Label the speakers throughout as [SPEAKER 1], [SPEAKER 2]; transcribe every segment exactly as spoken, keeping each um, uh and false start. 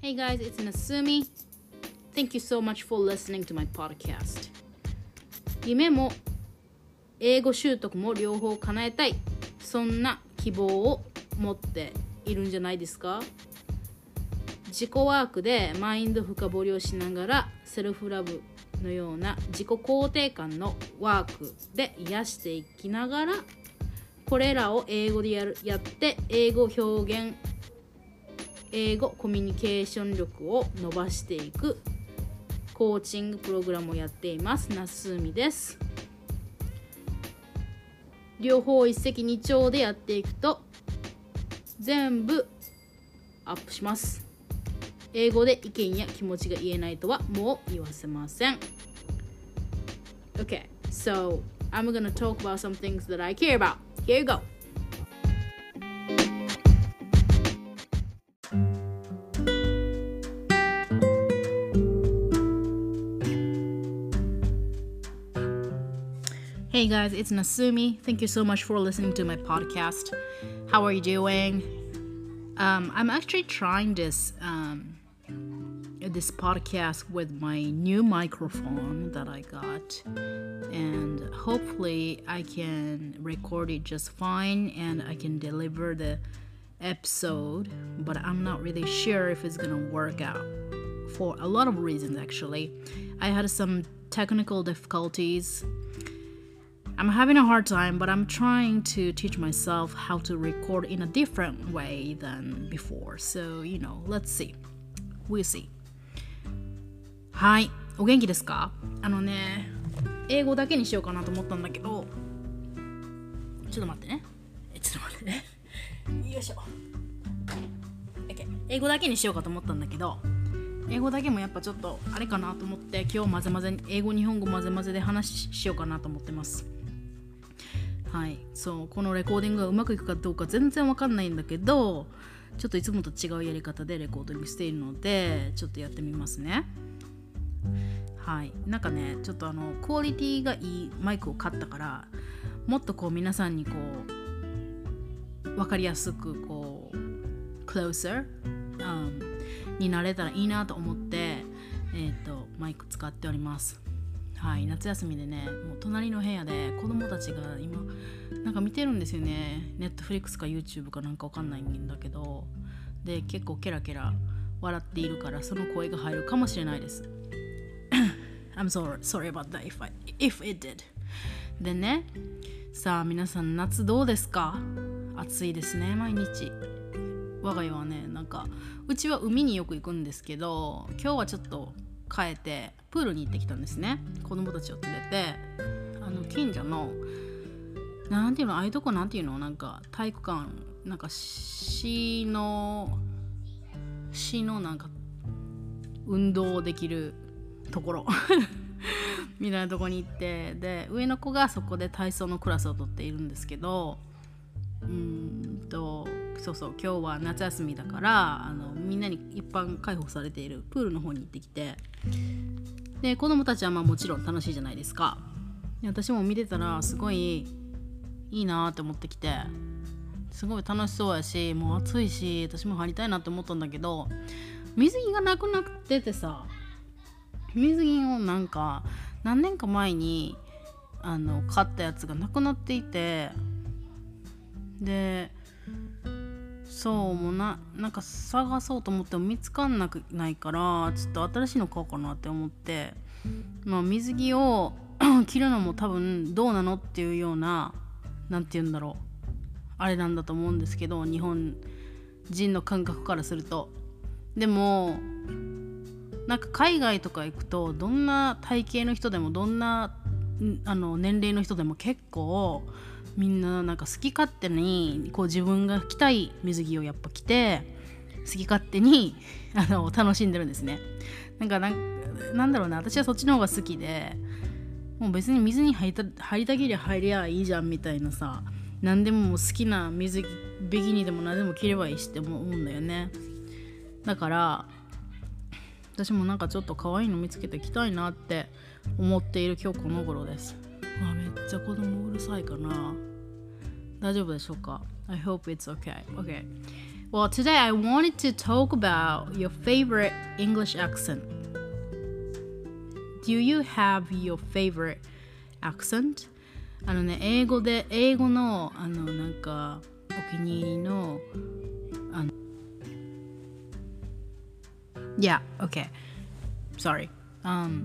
[SPEAKER 1] Hey guys, it's Nasumi. Thank you so much for listening to my podcast. 夢も英語習得も両方叶えたい、そんな希望を持っているんじゃないですか。自己ワークでマインド深掘りをしながらセルフラブのような自己肯定感のワークで癒していきながら、これらを英語でやるやって英語表現英語コミュニケーション力を伸ばしていくコーチングプログラムをやっています。なすみです。両方一石二鳥でやっていくと全部アップします。英語で意見や気持ちが言えないとはもう言わせません。 Okay, so I'm gonna talk about some things that I care about. Here you go. Hey guys, it's Nasumi. Thank you so much for listening to my podcast. How are you doing? Um, I'm actually trying this um, this podcast with my new microphone that I got, and hopefully I can record it just fine and I can deliver the episode, but I'm not really sure if it's gonna work out for a lot of reasons. Actually, I had some technical difficulties. I'm having a hard time, but I'm trying to teach myself how to record in a different way than before. So, you know, let's see. We'll see. はい、お元気ですか？あのね、英語だけにしようかなと思ったんだけど、ちょっと待ってね。ちょっと待ってね。よいしょ。OK。英語だけにしようかと思ったんだけど、英語だけもやっぱちょっとあれかなと思って、今日混ぜ混ぜ英語日本語混ぜ混ぜで話しようかなと思ってます。はい、そうこのレコーディングがうまくいくかどうか全然わかんないんだけど、ちょっといつもと違うやり方でレコーディングしているので、ちょっとやってみますね。はい、なんかね、ちょっとあのクオリティがいいマイクを買ったから、もっとこう皆さんにこうわかりやすくこう closer、um, になれたらいいなと思って、えーと、マイク使っております。はい、夏休みでね、もう隣の部屋で子供たちが今なんか見てるんですよね。ネットフリックスか YouTube かなんかわかんないんだけど、で結構ケラケラ笑っているから、その声が入るかもしれないです。I'm sorry, sorry about that if, I, if it did. でね、さあ皆さん夏どうですか？暑いですね、毎日。我が家はね、なんかうちは海によく行くんですけど、今日はちょっと帰ってプールに行ってきたんですね。子供たちを連れて、あの近所のなんていうの、ああいうとこなんていうの、なんか体育館、なんか市の市のなんか運動できるところみたいなとこに行って、で上の子がそこで体操のクラスを取っているんですけど、うーんとそうそう、今日は夏休みだから、あのみんなに一般開放されているプールの方に行ってきて、で子供たちはまあもちろん楽しいじゃないですか。で私も見てたらすごいいいなって思ってきて、すごい楽しそうやし、もう暑いし私も入りたいなって思ったんだけど、水着がなくなっててさ、水着をなんか何年か前にあの買ったやつがなくなっていて、でそうもうななんか探そうと思っても見つかんなくないから、ちょっと新しいの買おうかなって思って、まあ、水着を着るのも多分どうなのっていうような、なんて言うんだろう、あれなんだと思うんですけど、日本人の感覚からすると。でもなんか海外とか行くと、どんな体型の人でもどんなあの年齢の人でも結構みんななんか好き勝手にこう自分が着たい水着をやっぱ着て、好き勝手にあの楽しんでるんですね。なんかなんなんだろうな、私はそっちの方が好きで、もう別に水に入りた入りたけりゃ入りゃいいじゃんみたいなさ、何でももう好きな水着ビキニでも何でも着ればいいしって思うんだよね。だから私もなんかちょっと可愛いの見つけて着たいなって思っている今日この頃です。わ、めっちゃ子供うるさいかな。大丈夫でしょうか？ I hope it's okay. Okay. Well, today I wanted to talk about your favorite English accent. Do you have your favorite accent? あのね、英語で、英語の、あの、なんか、お気に入りの、あの、Yeah, okay. Sorry. Um,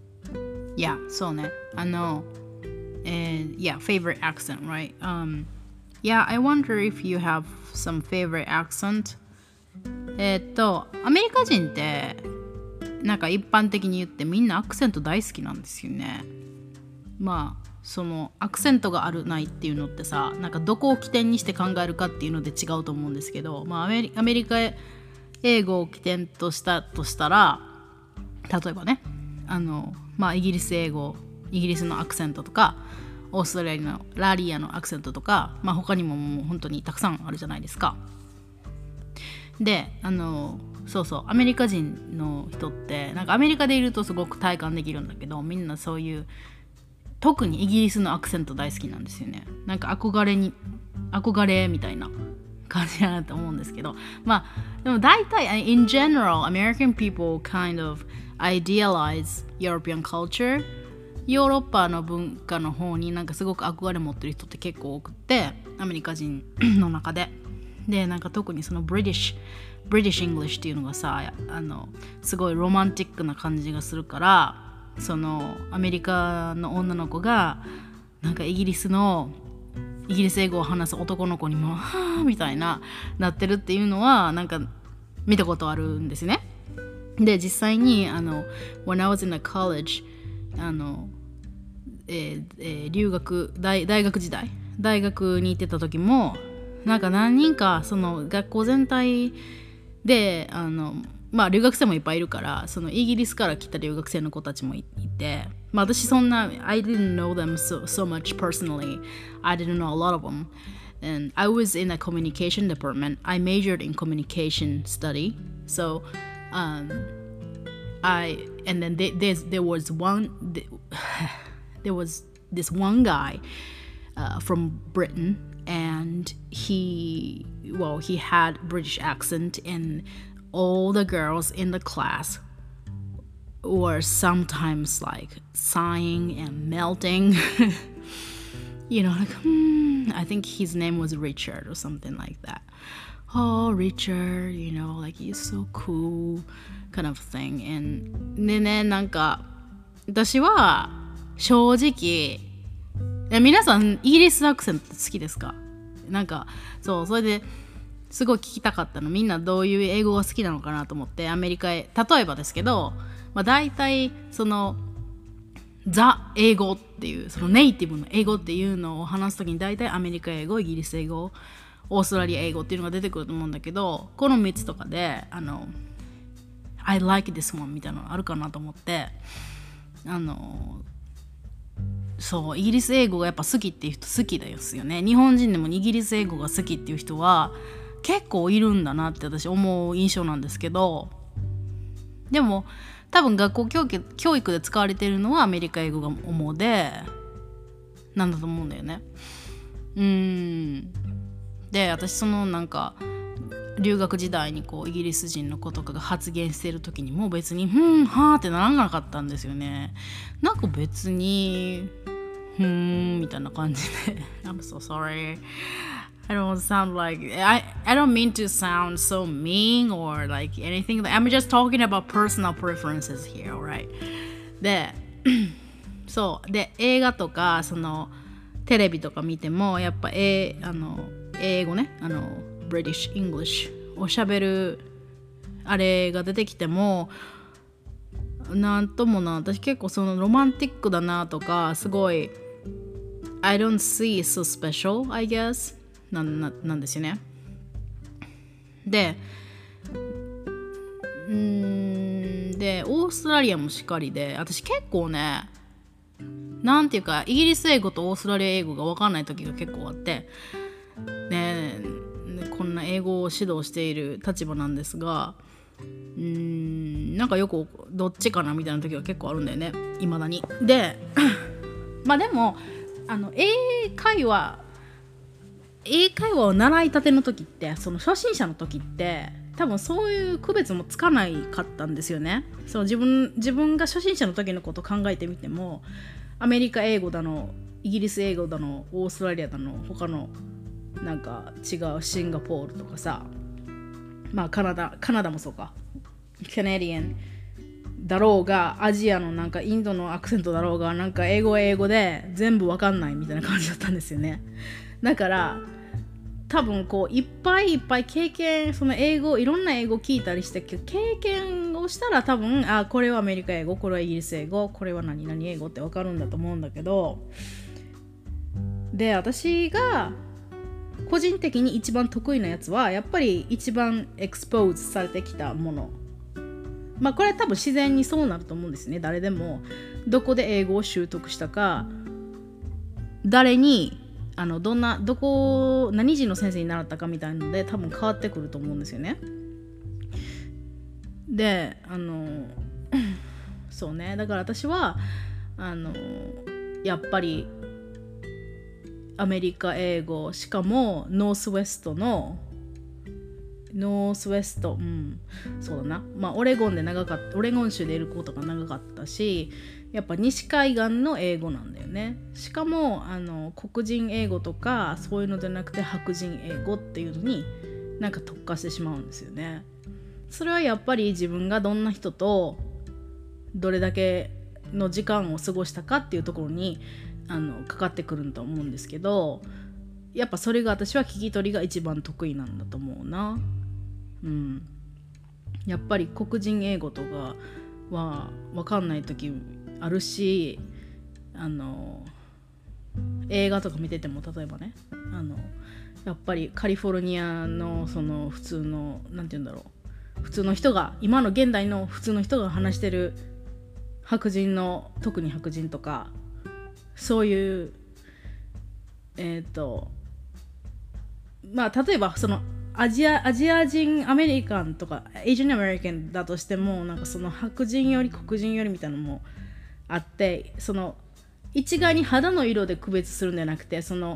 [SPEAKER 1] yeah, そうね。あの、And yeah, favorite accent, right? Um, yeah, I wonder if you have some favorite accent. えっと、アメリカ人って、なんか一般的に言ってみんなアクセント大好きなんですよね。まあ、そのアクセントがあるないっていうのってさ、なんかどこを起点にして考えるかっていうので違うと思うんですけど、まあアメリ、アメリカ英語を起点としたとしたら、例えばね、あの、まあイギリス英語、イギリスのアクセントとかオーストラリアのラリアのアクセントとか、まあ、他にももう本当にたくさんあるじゃないですか。で、あのそうそうアメリカ人の人ってなんかアメリカでいるとすごく体感できるんだけど、みんなそういう特にイギリスのアクセント大好きなんですよね。なんか憧れに憧れみたいな感じだなと思うんですけど、まあでも大体 in general American people kind of idealize European culture。ヨーロッパの文化の方になんかすごく憧れ持ってる人って結構多くて、アメリカ人の中でで、なんか特にそのブリティッシュブリティッシュ・イングリッシュっていうのがさ、あのすごいロマンティックな感じがするから、そのアメリカの女の子がなんかイギリスのイギリス英語を話す男の子にもはぁみたいななってるっていうのはなんか見たことあるんですね。で、実際にあの When I was in a collegeあの、えーえー、留学 大, 大学時代大学に行ってた時もなんか何人かその学校全体であのまあ留学生もいっぱいいるから、そのイギリスから来た留学生の子たちもいて、まあ私そんな I didn't know them so, so much personally. I didn't know a lot of them. And I was in a communication department. I majored in communication study. So um I and then they, there's, there was one there was this one guy uh, from Britain, and he well he had British accent, and all the girls in the class were sometimes like sighing and melting. You know, like hmm, I think his name was Richard or something like that. Oh, Richard, you know, like he's so cool kind of thing. And でね、なんか私は正直皆さんイギリスアクセント好きですか？なんかそう、それですごい聞きたかったの、みんなどういう英語が好きなのかなと思って、アメリカへ例えばですけど、まあ、大体そのザ英語っていうそのネイティブの英語っていうのを話すときに大体アメリカ英語、イギリス英語、オーストラリア英語っていうのが出てくると思うんだけど、このみっつとかであの I like this one みたいなのあるかなと思って、あのそうイギリス英語がやっぱ好きっていう人好きですよね。日本人でもイギリス英語が好きっていう人は結構いるんだなって私思う印象なんですけど、でも多分学校教育、教育で使われているのはアメリカ英語が主でなんだと思うんだよね。うーんで、私そのなんか留学時代にこうイギリス人の子とかが発言してる時にも別にふんはーってならなかったんですよね。なんか別にふーんみたいな感じでI'm so sorry. I don't sound like I, I don't mean to sound so mean or like anything. I'm just talking about personal preferences here, alright? でそうで映画とかそのテレビとか見てもやっぱえあの英語ね、あの British English を喋るあれが出てきてもなんともな、私結構そのロマンティックだなとかすごい I don't see it so special, I guess な, な, なんですよね。でうーんでオーストラリアもしっかりで、私結構ねなんていうかイギリス英語とオーストラリア英語が分かんない時が結構あってね、こんな英語を指導している立場なんですが、うーんなんかよくどっちかなみたいな時が結構あるんだよね、いまだに。でまあでもあの英会話英会話を習いたての時って、その初心者の時って多分そういう区別もつかないかったんですよね。そう自分自分が初心者の時のことを考えてみても、アメリカ英語だのイギリス英語だのオーストラリアだの他のなんか違うシンガポールとかさ、まあカナダカナダもそうか、カナディアンだろうがアジアのなんかインドのアクセントだろうが、なんか英語は英語で全部わかんないみたいな感じだったんですよね。だから多分こういっぱいいっぱい経験、その英語いろんな英語聞いたりして経験をしたら多分、あこれはアメリカ英語、これはイギリス英語、これは何々英語ってわかるんだと思うんだけど、で私が個人的に一番得意なやつはやっぱり一番エクスポーズされてきたもの。まあこれは多分自然にそうなると思うんですね。誰でもどこで英語を習得したか、誰にあのどんなどこ何人の先生に習ったかみたいなので多分変わってくると思うんですよね。であのそうね、だから私はあのやっぱりアメリカ英語、しかもノースウェストのノースウェスト、うん、そうだな、まあオレゴンで長かった、オレゴン州でいることが長かったし、やっぱ西海岸の英語なんだよね。しかもあの黒人英語とかそういうのじゃなくて白人英語っていうのになんか特化してしまうんですよね。それはやっぱり自分がどんな人とどれだけの時間を過ごしたかっていうところにあのかかってくると思うんですけど、やっぱそれが私は聞き取りが一番得意なんだと思うな。うん、やっぱり黒人英語とかは分かんない時あるし、あの映画とか見てても例えばね、あのやっぱりカリフォルニアのその普通のなんて言うんだろう、普通の人が今の現代の普通の人が話してる白人の、特に白人とかそういうえっとまあ例えばそのアジア、アジア人アメリカンとかエイジアンアメリカンだとしても、なんかその白人より黒人よりみたいなのもあって、その一概に肌の色で区別するんじゃなくて、その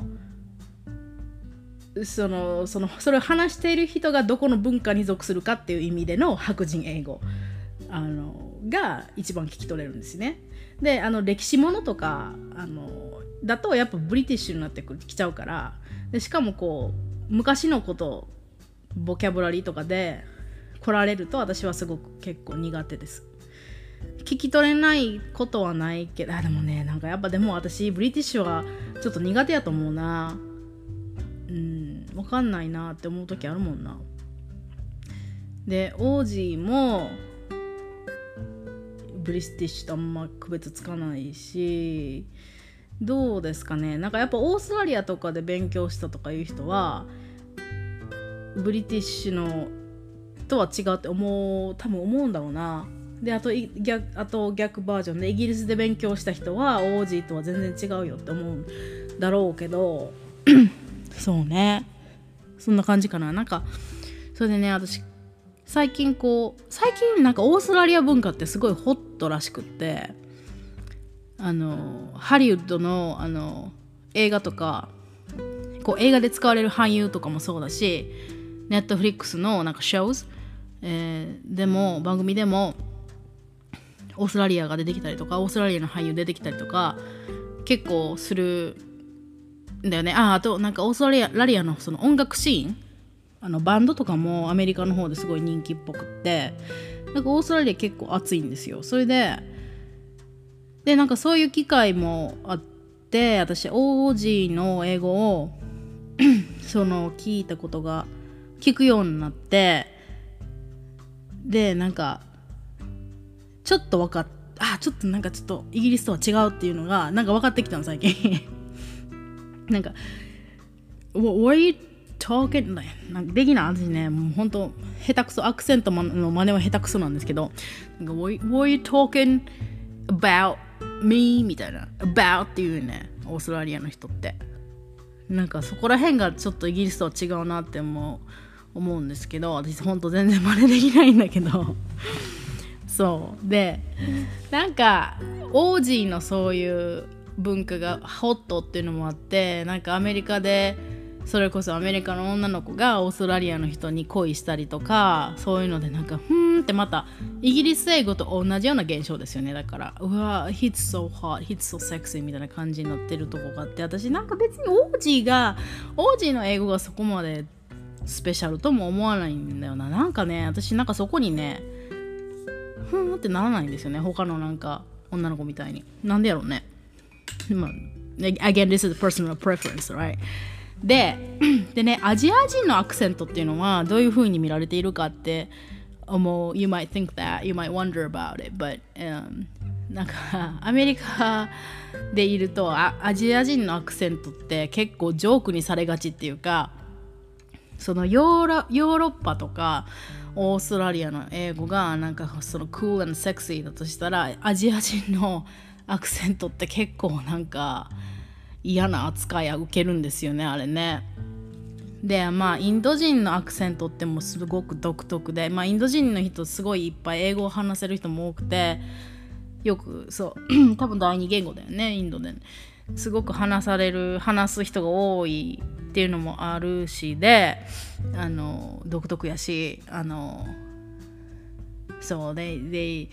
[SPEAKER 1] そのそのそれを話している人がどこの文化に属するかっていう意味での白人英語あのが一番聞き取れるんですね。であの歴史ものとかあのだとやっぱブリティッシュになってきちゃうから、でしかもこう昔のことボキャブラリーとかで来られると私はすごく結構苦手です。聞き取れないことはないけど、あでもね、なんかやっぱでも私ブリティッシュはちょっと苦手やと思うな。うん分かんないなって思う時あるもんな。でオージーもブリティッシュとあんま区別つかないし、どうですかね、なんかやっぱオーストラリアとかで勉強したとかいう人はブリティッシュのとは違うって思う多分思うんだろうな。であと逆あと逆バージョンでイギリスで勉強した人はオージーとは全然違うよって思うんだろうけどそうね、そんな感じかな。なんかそれでね、私最近こう最近なんかオーストラリア文化ってすごいホットらしくって、あのハリウッドのあの映画とかこう映画で使われる俳優とかもそうだし、ネットフリックスのなんかショーズ、えー、でも番組でもオーストラリアが出てきたりとか、オーストラリアの俳優出てきたりとか結構するんだよね。ああとなんかオーストラリアのその音楽シーン、あのバンドとかもアメリカの方ですごい人気っぽくって、なんかオーストラリア結構熱いんですよ。それででなんかそういう機会もあって、私オージーの英語をその聞いたことが聞くようになって、でなんかちょっと分かっあちょっとなんかちょっとイギリスとは違うっていうのがなんか分かってきたの最近なんか What are you talking なんかできない私ね、もうほんと下手くそ、アクセントの真似は下手くそなんですけど、なんか What are you talking about me みたいな about っていうね、オーストラリアの人ってなんかそこら辺がちょっとイギリスとは違うなって思う、思うんですけど、私ほんと全然真似できないんだけどそうでなんかオージーのそういう文化がホットっていうのもあって、なんかアメリカでそれこそアメリカの女の子がオーストラリアの人に恋したりとか、そういうのでなんかふーんってまたイギリス英語と同じような現象ですよね。だからうわ He's so hot, He's so sexy みたいな感じになってるとこがあって、私なんか別にオージーがオージーの英語がそこまでスペシャルとも思わないんだよな。なんかね、私なんかそこにねふーんってならないんですよね、他のなんか女の子みたいに。なんでやろうね。まあ Again, this is personal preference, right? で, でね、アジア人のアクセントっていうのはどういう風に見られているかって思う。 You might think that, you might wonder about it, but、um, なんかアメリカでいると ア, アジア人のアクセントって結構ジョークにされがちっていうか、そのヨーロ、ヨーロッパとかオーストラリアの英語がなんかその cool and sexy だとしたら、アジア人のアクセントって結構なんか嫌な扱いを受けるんですよね、あれね。でまあインド人のアクセントってもすごく独特で、まあインド人の人すごいいっぱい英語を話せる人も多くて、よくそう多分第二言語だよね、インドで、ね、すごく話される話す人が多いっていうのもあるし、であの独特やし、あのそう they they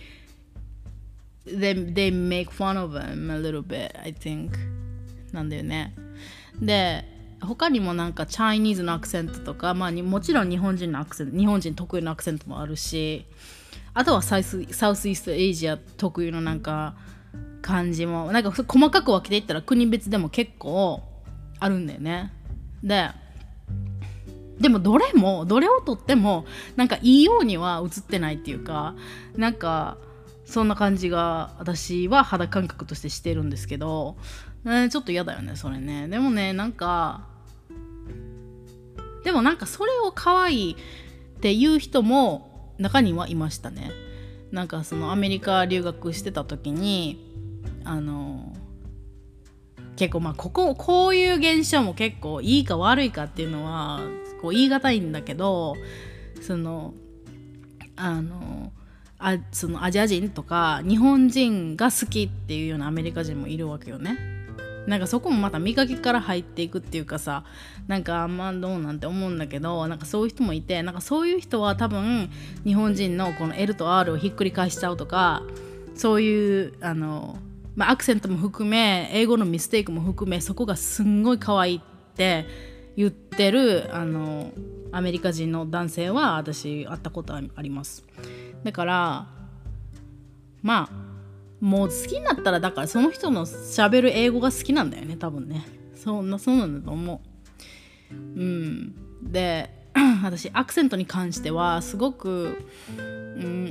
[SPEAKER 1] they they make fun of them a little bit, I think なんだよね。で他にもなんかチャイニーズのアクセントとか、まあ、もちろん日本人のアクセント、日本人特有のアクセントもあるし、あとはサウス、サウスイーストエイジア特有のなんか感じもなんか細かく分けていったら国別でも結構あるんだよね。ででもどれもどれをとってもなんかいいようには映ってないっていうか、なんかそんな感じが私は肌感覚としてしてるんですけど、ね、ちょっと嫌だよねそれね。でもねなんかでもなんかそれを可愛いっていう人も中にはいましたね。なんかそのアメリカ留学してた時にあの結構まあこここういう現象も結構いいか悪いかっていうのはこう言い難いんだけど、そのあのあそのアジア人とか日本人が好きっていうようなアメリカ人もいるわけよね。なんかそこもまた見かけから入っていくっていうかさ、なんかあんまどうなんて思うんだけど、なんかそういう人もいて、なんかそういう人は多分日本人のこの L と R をひっくり返しちゃうとか、そういうあの、まあ、アクセントも含め英語のミステイクも含めそこがすんごい可愛いって言ってるあのアメリカ人の男性は私会ったことあります。だからまあもう好きになったらだからその人の喋る英語が好きなんだよね多分ね。そんなそうなんだと思う。うんで私アクセントに関してはすごく、うん、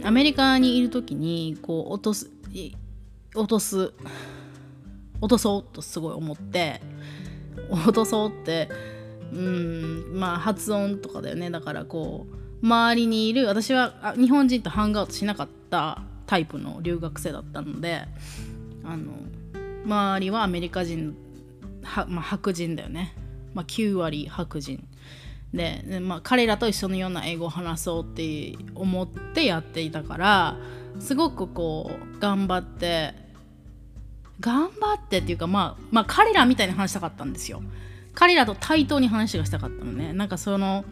[SPEAKER 1] アメリカにいる時にこう落とす落とす落とそうとすごい思って落とそうってうんまあ発音とかだよね。だからこう周りにいる私は日本人とハングアウトしなかったタイプの留学生だったので、あの周りはアメリカ人は、まあ、白人だよね、まあ、きゅう割白人 で, で、まあ、彼らと一緒のような英語を話そうって思ってやっていたから、すごくこう頑張って頑張ってっていうか、まあ、まあ彼らみたいに話したかったんですよ。彼らと対等に話がしたかったのね。なんかその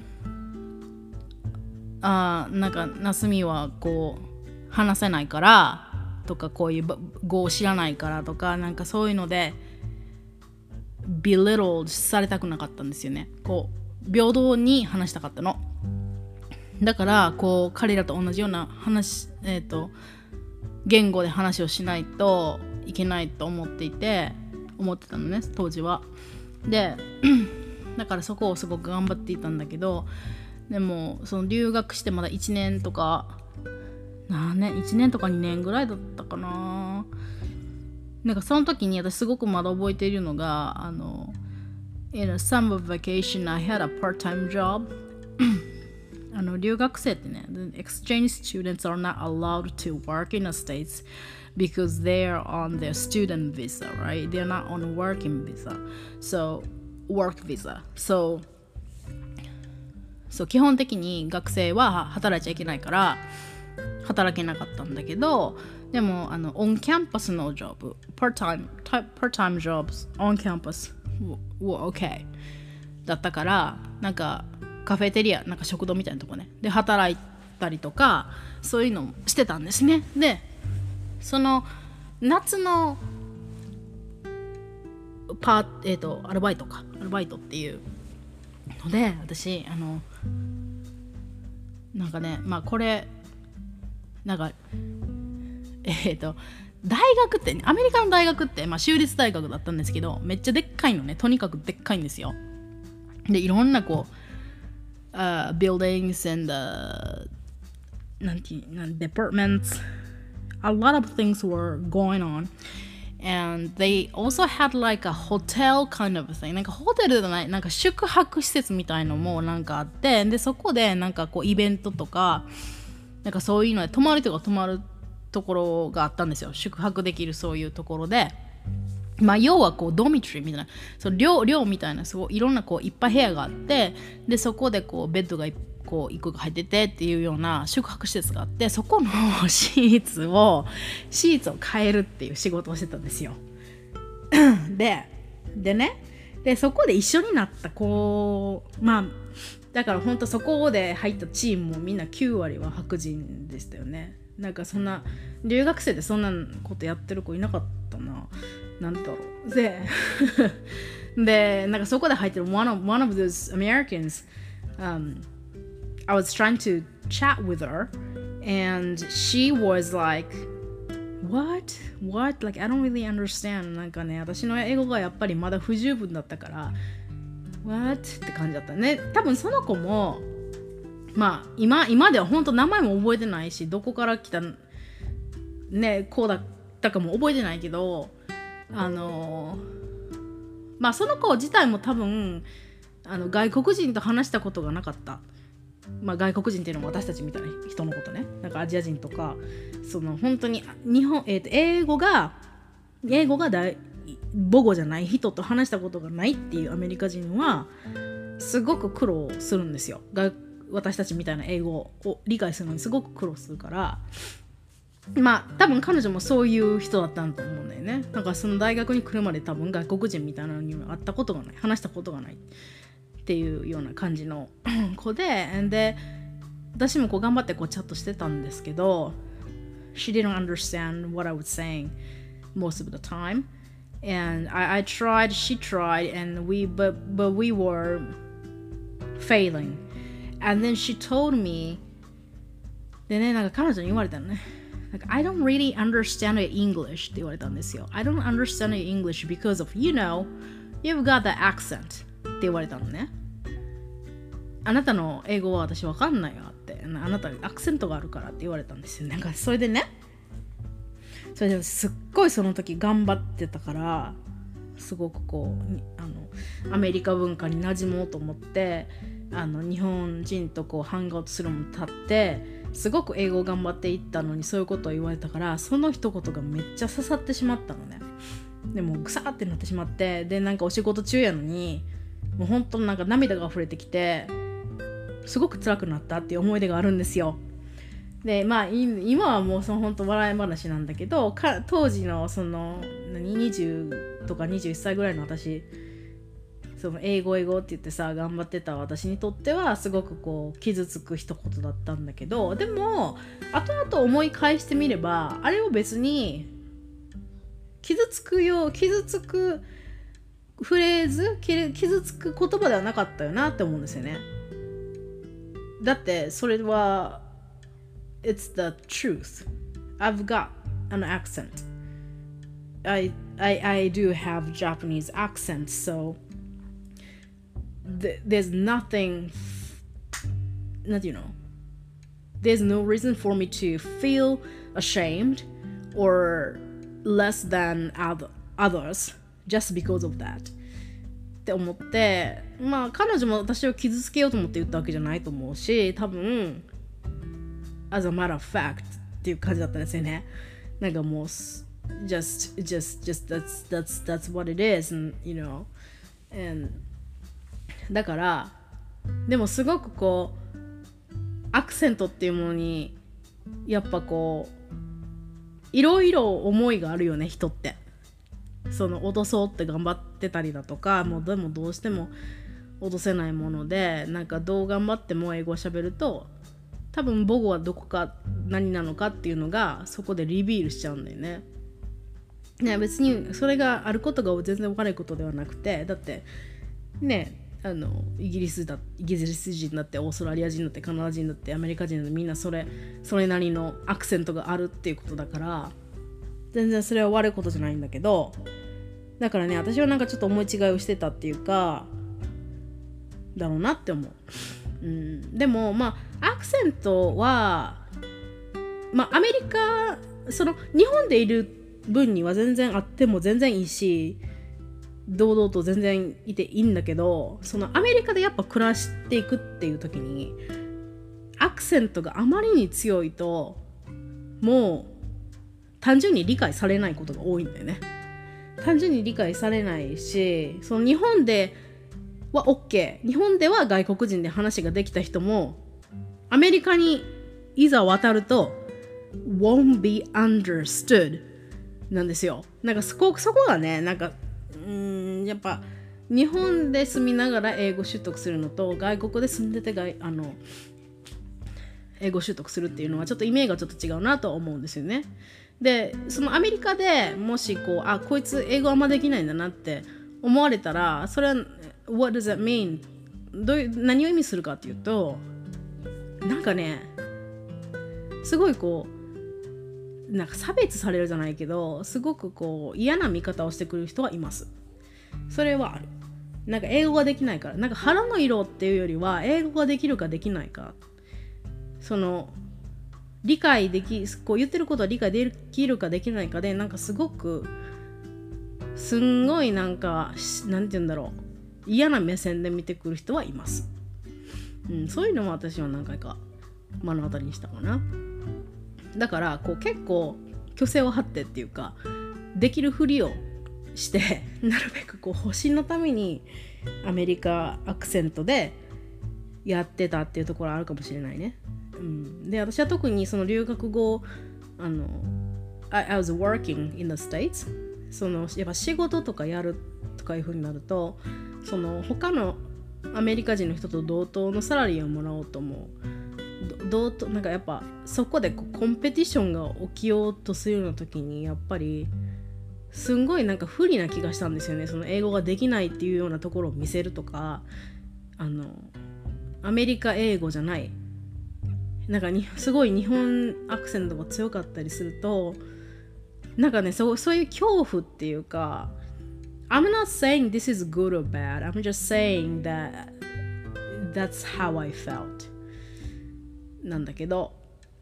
[SPEAKER 1] あなんかなすみはこう話せないからとか、こういう語を知らないからとか、なんかそういうので belittle されたくなかったんですよね。こう平等に話したかったの。だからこう彼らと同じような話、えーと、言語で話をしないといけないと思っていて思ってたのね当時は。でだからそこをすごく頑張っていたんだけど、でもその留学してまだいちねんとか何年いちねんとかにねんぐらいだったかな。なんかその時に私すごくまだ覚えているのが、あの In a summer vacation I had a part-time job あの留学生ってね The exchange students are not allowed to work in the States because they are on their student visa, right? They're not on working visa, so work visa, so so 基本的に学生は働いちゃいけないから働けなかったんだけど、でもあのオンキャンパスのジョブ、part time part time jobs on campus were okay。 だったから、なんかカフェテリア、なんか食堂みたいなとこねで働いたりとか、そういうのもしてたんですね。でその夏のパー、えーと、アルバイトかアルバイトっていうので、私あのなんかね、まあこれなんかえっ、ー、と大学って、ね、アメリカの大学って、まあ、州立大学だったんですけど、めっちゃでっかいのね、とにかくでっかいんですよ。でいろんなこう、uh, buildings and the なんていう、departments, a lot of things were going on, and they also had like a hotel kind of thing. なんかホテルじゃない、なんか宿泊施設みたいのもなんかあって、でそこでなんかこうイベントとかなんかそういうので泊まるとか泊まるところがあったんですよ。宿泊できるそういうところで、まあ要はこうドミトリーみたいな、そう寮寮みたいな、すごいいろんなこういっぱい部屋があって、でそこでこうベッドがこういっこが入っててっていうような宿泊施設があって、そこのシーツをシーツを変えるっていう仕事をしてたんですよ。ででねでそこで一緒になった子、まあだから本当そこで入ったチームもみんなきゅうわりは白人でしたよね。なんかそんな留学生でそんなことやってる子いなかったな。なんだろう。ででなんかそこで入ってる one of, one of those Americans、um, I was trying to chat with her and she was like what? What? Like I don't really understand. なんかね、私の英語がやっぱりまだ不十分だったから What? って感じだったね。多分その子もまあ 今, 今では本当名前も覚えてないし、どこから来たねこうだったかも覚えてないけど、あのまあその子自体も多分あの外国人と話したことがなかった。まあ外国人っていうのも私たちみたいな人のことね、なんかアジア人とか、その本当に日本、えーと、英語が英語が大母語じゃない人と話したことがないっていうアメリカ人はすごく苦労するんですよ。私たちみたいな英語を理解するのにすごく苦労するから、まあ多分彼女もそういう人だったんだと思うんだよね。なんかその大学に来るまで多分外国人みたいなのに会ったことがない、話したことがないっていうような感じの子で、で私もこう頑張ってこうチャットしてたんですけど、 She didn't understand what I was saying most of the time, and I, I tried, she tried, and we but but we were failing. And then she told me, でね、なんか彼女に言われたのね、なんか I don't really understand your English って言われたんですよ。 I don't understand your English because of, you know, you've got the accent って言われたのね。あなたの英語は私わかんないよって、あなたアクセントがあるからって言われたんですよ。なんかそれでね、それですっごいその時頑張ってたから、すごくこうあのアメリカ文化に馴染もうと思って、あの日本人とこうハングアウトするのも立ってすごく英語を頑張っていったのに、そういうことを言われたから、その一言がめっちゃ刺さってしまったのね。でもぐさーってなってしまって、でなんかお仕事中やのにもう本当なんか涙が溢れてきて、すごく辛くなったっていう思い出があるんですよ。でまあ今はもうその本当笑い話なんだけど、か当時のその何にじゅうとかにじゅういっさいぐらいの私、その英語英語って言ってさ頑張ってた私にとってはすごくこう傷つく一言だったんだけど、でも後々思い返してみれば、あれを別に傷つくよ傷つくフレーズ、傷つく言葉ではなかったよなって思うんですよね。だってそれは It's the truth. I've got an accent. I, I, I do have Japanese accent, so th- there's nothing, not you know, there's no reason for me to feel ashamed or less than other, others just because of that. って思って、まあ彼女も私を傷つけようと思って言ったわけじゃないと思うし、多分 as a matter of fact っていう感じだったんですよね。なんかもう just just just that's that's that's what it is, and you know, and だからでもすごくこうアクセントっていうものにやっぱこういろいろ思いがあるよね、人って。その落とそうって頑張ってたりだとか、もうでもどうしても落とせないもので、なんかどう頑張っても英語を喋ると多分母語はどこか何なのかっていうのがそこでリビールしちゃうんだよね。ね、別にそれがあることが全然悪いことではなくて、だってね、あのイギリスだイギリス人だってオーストラリア人だってカナダ人だってアメリカ人だってみんなそれそれなりのアクセントがあるっていうことだから、全然それは悪いことじゃないんだけど、だからね、私はなんかちょっと思い違いをしてたっていうかだろうなって思う。うん、でもまあアクセントはまあアメリカ、その日本でいる分には全然あっても全然いいし、堂々と全然いていいんだけど、そのアメリカでやっぱ暮らしていくっていう時にアクセントがあまりに強いともう単純に理解されないことが多いんだよね。単純に理解されないし、その日本では OK、 日本では外国人で話ができた人もアメリカにいざ渡ると won't be understood なんですよ。なんかそこ、そこがね、なんかうーんやっぱ日本で住みながら英語習得するのと外国で住んでて外あの英語習得するっていうのはちょっとイメージがちょっと違うなと思うんですよね。でそのアメリカでもしこうあこいつ英語あんまできないんだなって思われたら、それは What does that mean? どういう何を意味するかっていうと、なんかねすごいこうなんか差別されるじゃないけど、すごくこう嫌な見方をしてくる人はいます。それはある。なんか英語ができないから、なんか腹の色っていうよりは英語ができるかできないか、その理解できこう言ってることは理解できるかできないかで、なんかすごくすんごいなんかなんて言うんだろう、嫌な目線で見てくる人はいます。うん、そういうのも私は何回か目の当たりにしたかな。だからこう結構虚勢を張ってっていうかできるふりをしてなるべくこう保身のためにアメリカアクセントでやってたっていうところあるかもしれないね。うん、で私は特にその留学後あの I, I was working in the States、 そのやっぱ仕事とかやるとかいう風になると、その他のアメリカ人の人と同等のサラリーをもらおうと思う。どうなんかやっぱそこでこうコンペティションが起きようとするような時にやっぱりすんごいなんか不利な気がしたんですよね。その英語ができないっていうようなところを見せるとか、あのアメリカ英語じゃないなんかにすごい日本アクセントが強かったりすると、なんかねそう、そういう恐怖っていうか、 I'm not saying this is good or bad, I'm just saying that that's how I feltなんだけど、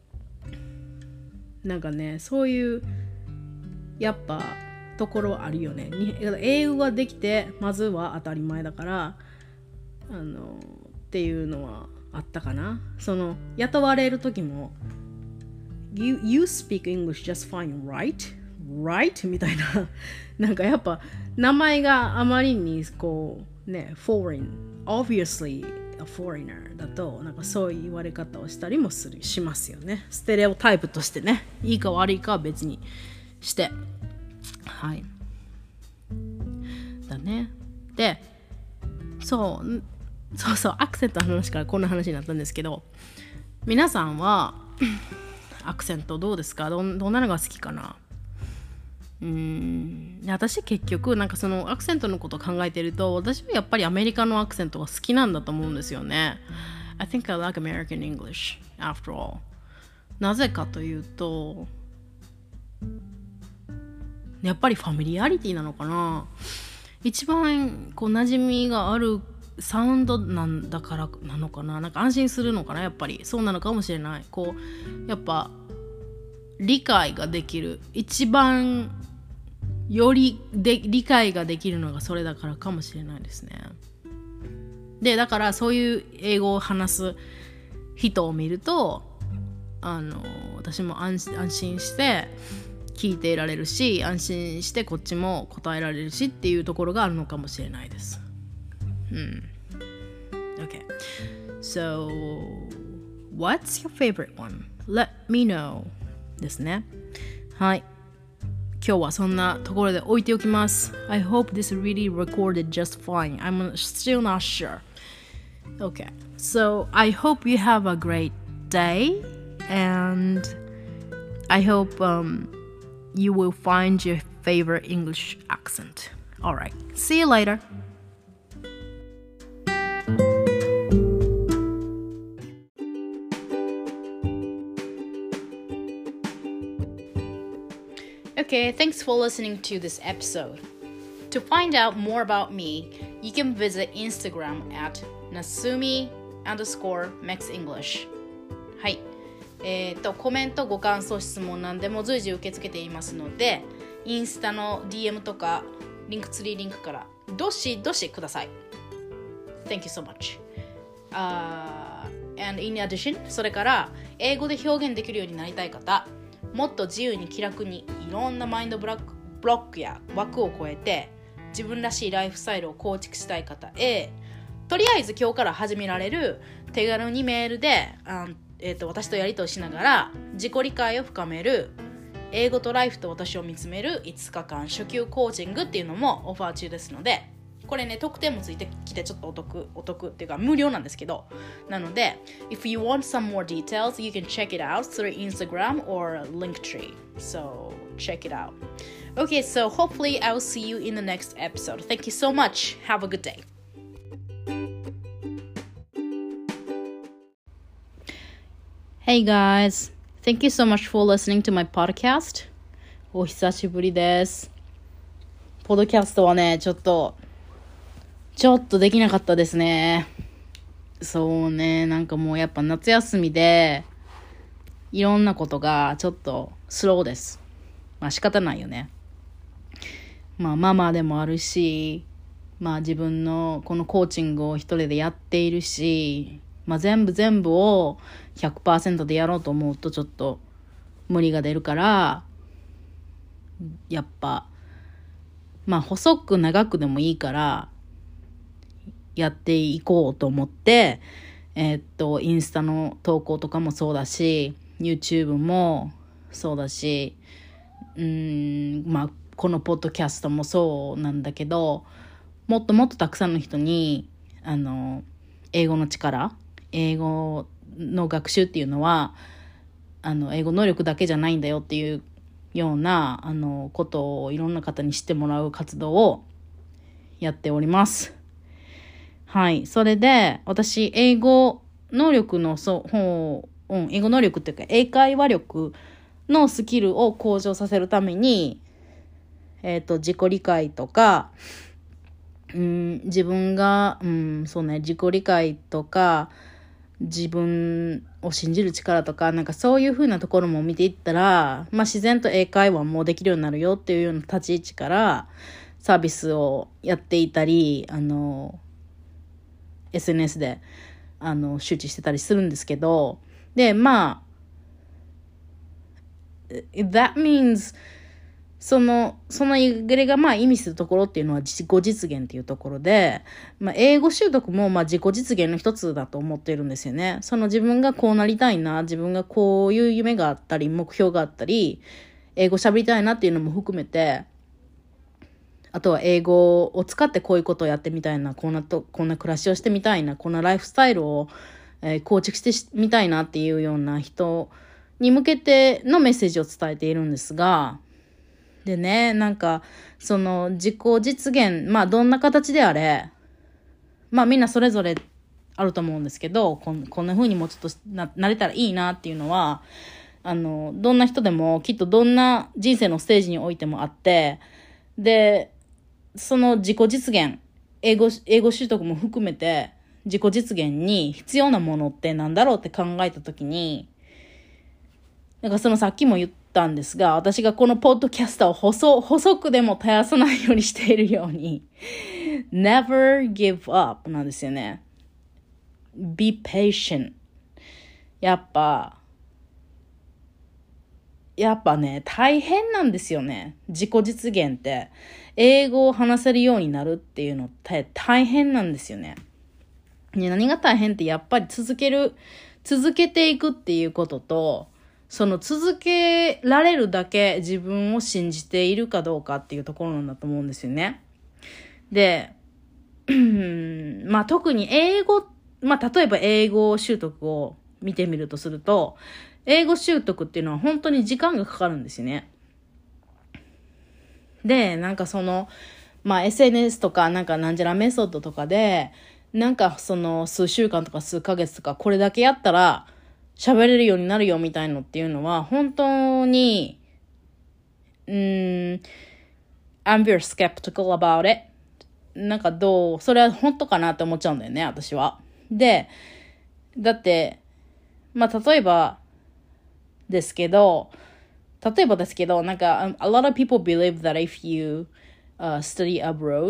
[SPEAKER 1] なんかねそういうやっぱところあるよね。英語ができてまずは当たり前だからあのっていうのはあったかな。その雇われる時も you, you speak English just fine, right? Right? みたいななんかやっぱ名前があまりにこうね foreign obviously a foreigner だとなんかそういう言われ方をしたりもするしますよね。ステレオタイプとしてね、いいか悪いかは別にしてはいだね。でそうそうそうアクセントの話からこんな話になったんですけど、皆さんはアクセントどうですか？ ど, どんなのが好きかな。うーん私結局なんかそのアクセントのことを考えてると、私はやっぱりアメリカのアクセントが好きなんだと思うんですよね。 I think I like American English after all。 なぜかというとやっぱりファミリアリティなのかな。一番こう馴染みがあるサウンドなんだからなのかな。なんか安心するのかな。やっぱりそうなのかもしれない。こうやっぱ理解ができる、一番よりで理解ができるのがそれだからかもしれないですね。でだからそういう英語を話す人を見るとあの私も 安, 安心して聞いていられるし、安心してこっちも答えられるしっていうところがあるのかもしれないです。Hmm. Okay. So, what's your favorite one? Let me know. ですね。はい。今日はそんなところで置いておきます。I hope this really recorded just fine. I'm still not sure. Okay, so I hope you have a great day, and I hope um, you will find your favorite English accent. Alright, see you later. Okay, thanks for listening to this episode. To find out more about me, you can visit Instagram at nasumi underscore maxenglish. はい。えっと、コメント、ご感想、質問なんでも随時受け付けていますので、インスタの ディーエム とか、リンクツリーリンクからどしどしください。Thank you so much.Uh, and in addition, それから英語で表現できるようになりたい方、もっと自由に気楽にいろんなマインドブロック、ブロックや枠を超えて自分らしいライフスタイルを構築したい方へ、とりあえず今日から始められる手軽にメールで、あえーと、私とやり取りしながら自己理解を深める英語とライフと私を見つめるいつかかん初級コーチングっていうのもオファー中ですので、これね特典もついてきてちょっとお得お得っていうか無料なんですけど、なので if you want some more details you can check it out through Instagram or Linktree, so check it out. Okay, so hopefully I'll see you in the next episode. Thank you so much. Have a good day. Hey guys, thank you so much for listening to my podcast. お久しぶりです。ポッドキャストはね、ちょっとちょっとできなかったですね。そうね、なんかもうやっぱ夏休みでいろんなことがちょっとスローです。まあ仕方ないよね。まあママでもあるし、まあ自分のこのコーチングを一人でやっているし、まあ全部全部を ひゃくパーセント でやろうと思うとちょっと無理が出るから、やっぱまあ細く長くでもいいからやっていこうと思って、えー、っとインスタの投稿とかもそうだし YouTube もそうだし、うーんまあこのポッドキャストもそうなんだけど、もっともっとたくさんの人にあの英語の力、英語の学習っていうのはあの英語能力だけじゃないんだよっていうようなあのことをいろんな方に知ってもらう活動をやっております。はい。それで、私、英語能力の、そう、ほう、うん、英語能力っていうか、英会話力のスキルを向上させるために、えっと、自己理解とか、うん、自分が、うん、そうね、自己理解とか、自分を信じる力とか、なんかそういう風なところも見ていったら、まあ自然と英会話もできるようになるよっていうような立ち位置からサービスをやっていたり、あの、エスエヌエス であの周知してたりするんですけど、でまあ that means そのそのイグレがまあ意味するところっていうのは自己実現っていうところで、まあ、英語習得もまあ自己実現の一つだと思っているんですよね。その自分がこうなりたいな、自分がこういう夢があったり目標があったり英語喋りたいなっていうのも含めて、あとは英語を使ってこういうことをやってみたいな、こんなとこんな暮らしをしてみたいな、こんなライフスタイルを、えー、構築してみたいなっていうような人に向けてのメッセージを伝えているんですが、でね、なんかその自己実現、まあどんな形であれ、まあみんなそれぞれあると思うんですけど、こん、こんな風にもうちょっと な, なれたらいいなっていうのは、あのどんな人でもきっとどんな人生のステージにおいてもあって、でその自己実現、英語、英語習得も含めて自己実現に必要なものってなんだろうって考えたときに、なんかそのさっきも言ったんですが、私がこのポッドキャスターを細、細くでも絶やさないようにしているようにnever give up なんですよね。be patient。やっぱやっぱね、大変なんですよね。自己実現って。英語を話せるようになるっていうのって大変なんですよね。ね、何が大変ってやっぱり続ける、続けていくっていうことと、その続けられるだけ自分を信じているかどうかっていうところなんだと思うんですよね。で、まあ特に英語っまあ例えば英語習得を見てみるとすると、英語習得っていうのは本当に時間がかかるんですよね。で、なんかその、まあ エスエヌエス とかなんかなんじゃらメソッドとかで、なんかその数週間とか数ヶ月とかこれだけやったら喋れるようになるよみたいのっていうのは本当に、うーん、I'm very skeptical about it. なんかどう、それは本当かなって思っちゃうんだよね、私は。で、だって、まあ例えばですけど、例えばですけど、なんか、um, a lot of people believe that if you、uh, study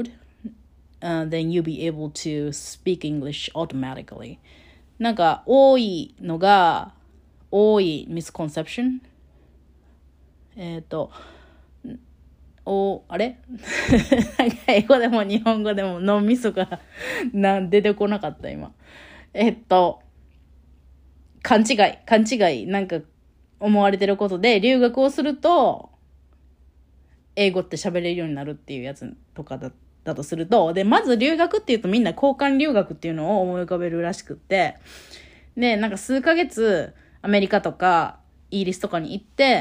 [SPEAKER 1] abroad,Uh, then you'll be able to speak English automatically. なんか多いのが多い misconception えっとおあれなんか英語でも日本語でも脳みそがなん出てこなかった今えっと勘違い勘違いなんか思われてることで留学をすると英語って喋れるようになるっていうやつとかだっただとすると、で、まず留学っていうとみんな交換留学っていうのを思い浮かべるらしくって、で、なんか数ヶ月アメリカとかイギリスとかに行って、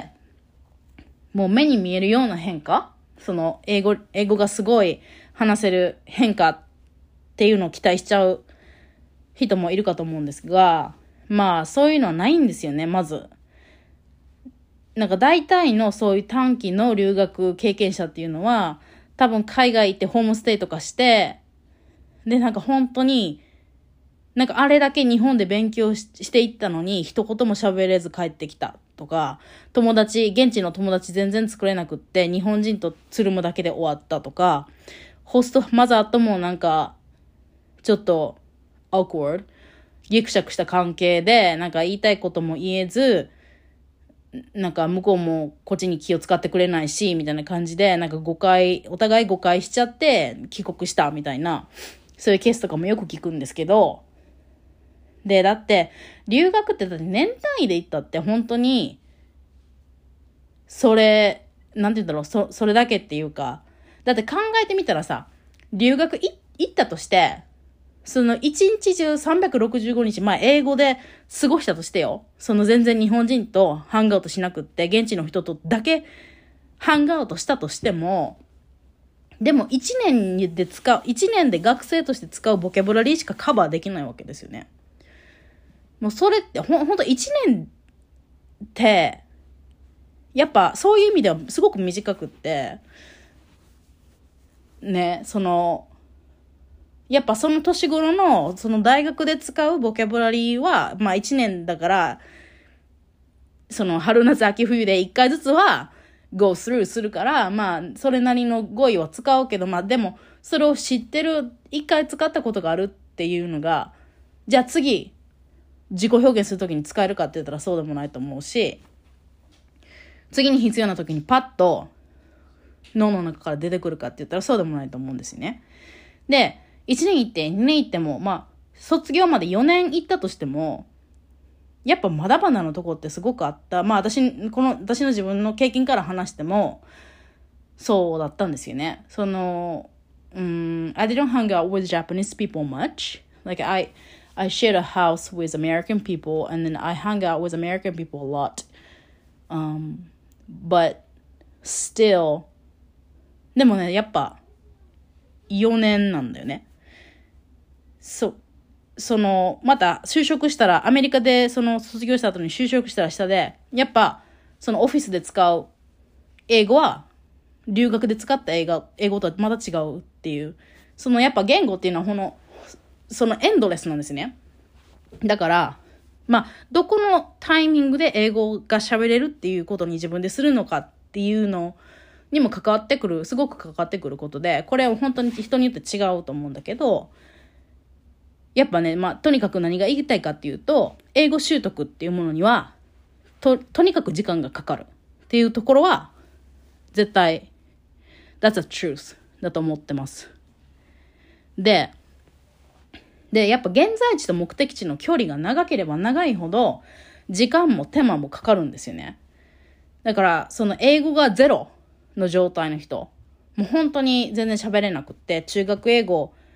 [SPEAKER 1] もう目に見えるような変化、その英語、英語がすごい話せる変化っていうのを期待しちゃう人もいるかと思うんですが、まあそういうのはないんですよね、まず。なんか大体のそういう短期の留学経験者っていうのは、多分海外行ってホームステイとかして、で、なんか本当に、なんかあれだけ日本で勉強 し, していったのに、一言も喋れず帰ってきたとか、友達、現地の友達全然作れなくって、日本人とつるむだけで終わったとか、ホストマザーともなんか、ちょっと、awkward、ギクシャクした関係で、なんか言いたいことも言えず、なんか向こうもこっちに気を使ってくれないしみたいな感じでなんか誤解お互い誤解しちゃって帰国したみたいなそういうケースとかもよく聞くんですけどでだって留学ってだって年単位で行ったって本当にそれなんて言うんだろう そ, それだけっていうかだって考えてみたらさ留学い行ったとしてその一日中さんびゃくろくじゅうごにち、まあ英語で過ごしたとしてよ。その全然日本人とハングアウトしなくって、現地の人とだけハングアウトしたとしても、でも一年で使う、一年で学生として使うボキャブラリーしかカバーできないわけですよね。もうそれってほん、ほんと一年って、やっぱそういう意味ではすごく短くって、ね、その、やっぱその年頃のその大学で使うボキャブラリーはまあ一年だからその春夏秋冬で一回ずつは go through するからまあそれなりの語彙は使うけどまあでもそれを知ってる一回使ったことがあるっていうのがじゃあ次自己表現するときに使えるかって言ったらそうでもないと思うし次に必要なときにパッと脳の中から出てくるかって言ったらそうでもないと思うんですよね。でいちねん行って、にねん行っても、まあ、卒業までよねん行ったとしても、やっぱまだまだのとこってすごくあった。まあ私、この、私の自分の経験から話しても、そうだったんですよね。その、うん、I didn't hang out with Japanese people much. Like I, I shared a house with American people and then I hung out with American people a lot. Um, but still, でもね、やっぱ、よねんなんだよね。そ、その、また就職したら、アメリカでその卒業した後に就職したら下で、やっぱ、そのオフィスで使う英語は、留学で使った英語、英語とはまた違うっていう、そのやっぱ言語っていうのはこの、そのエンドレスなんですね。だから、まあ、どこのタイミングで英語が喋れるっていうことに自分でするのかっていうのにも関わってくる、すごく関わってくることで、これは本当に人によって違うと思うんだけど、やっぱね、まあ、とにかく何が言いたいかっていうと、英語習得っていうものには、と、とにかく時間がかかるっていうところは、絶対、that's a truth だと思ってます。で、で、やっぱ現在地と目的地の距離が長ければ長いほど、時間も手間もかかるんですよね。だから、その英語がゼロの状態の人、もう本当に全然喋れなくって、中学英語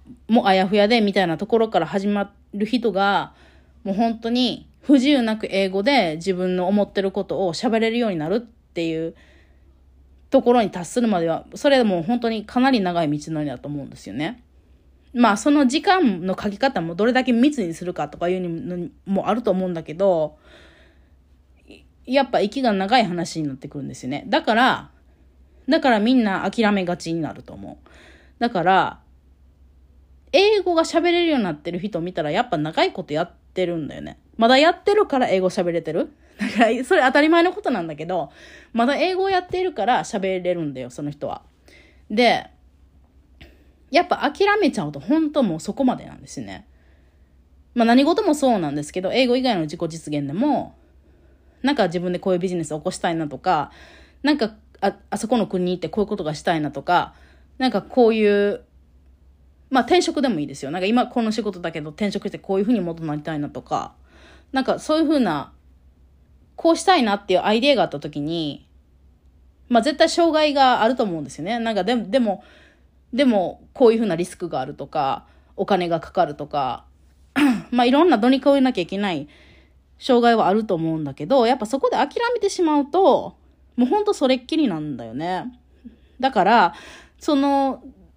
[SPEAKER 1] もあやふやでみたいなところから始まる人が、もう本当に不自由なく英語で自分の思ってることを喋れるようになるっていうところに達するまでは、それでもう本当にかなり長い道のりだと思うんですよね。まあその時間の書き方もどれだけ密にするかとかいうのもあると思うんだけど、やっぱ息が長い話になってくるんですよね。だから、だからみんな諦めがちになると思う。だから、英語が喋れるようになってる人を見たらやっぱ長いことやってるんだよね。まだやってるから英語喋れてる。だからそれ当たり前のことなんだけど、まだ英語をやっているから喋れるんだよ、その人は。で、やっぱ諦めちゃうと本当もうそこまでなんですよね。まあ何事もそうなんですけど、英語以外の自己実現でも、なんか自分でこういうビジネスを起こしたいなとか、なんか あ, あそこの国に行ってこういうことがしたいなとか、なんかこういう、まあ転職でもいいですよ。なんか今この仕事だけど転職してこういうふうにもっとなりたいなとか、なんかそういうふうな、こうしたいなっていうアイデアがあった時に、まあ絶対障害があると思うんですよね。なんかでも、でも、でもこういうふうなリスクがあるとか、お金がかかるとか、まあいろんなどに越えなきゃいけない障害はあると思うんだけど、やっぱそこで諦めてしまうと、もうほんとそれっきりなんだよね。だから、その、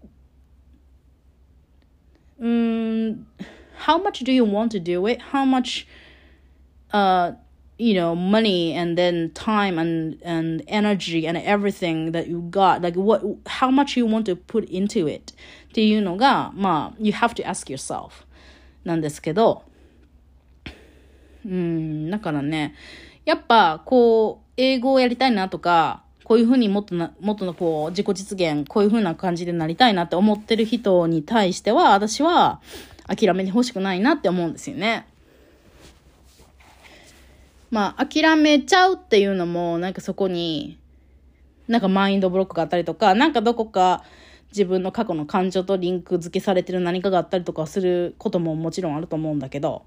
[SPEAKER 1] うーん、how much do you want to do it? How much, uh, you know, money and then time and, and energy and everything that you got, like what, how much you want to put into it っていうのが、まあ、you have to ask yourself なんですけど、うん、だからね、やっぱこう英語をやりたいなとか、こういうふうにもっとなもっとのこう自己実現、こういうふうな感じでなりたいなって思ってる人に対しては、私は諦めてほしくないなって思うんですよね。まあ諦めちゃうっていうのもなんかそこになんかマインドブロックがあったりとか、なんかどこか自分の過去の感情とリンク付けされてる何かがあったりとかすることももちろんあると思うんだけど、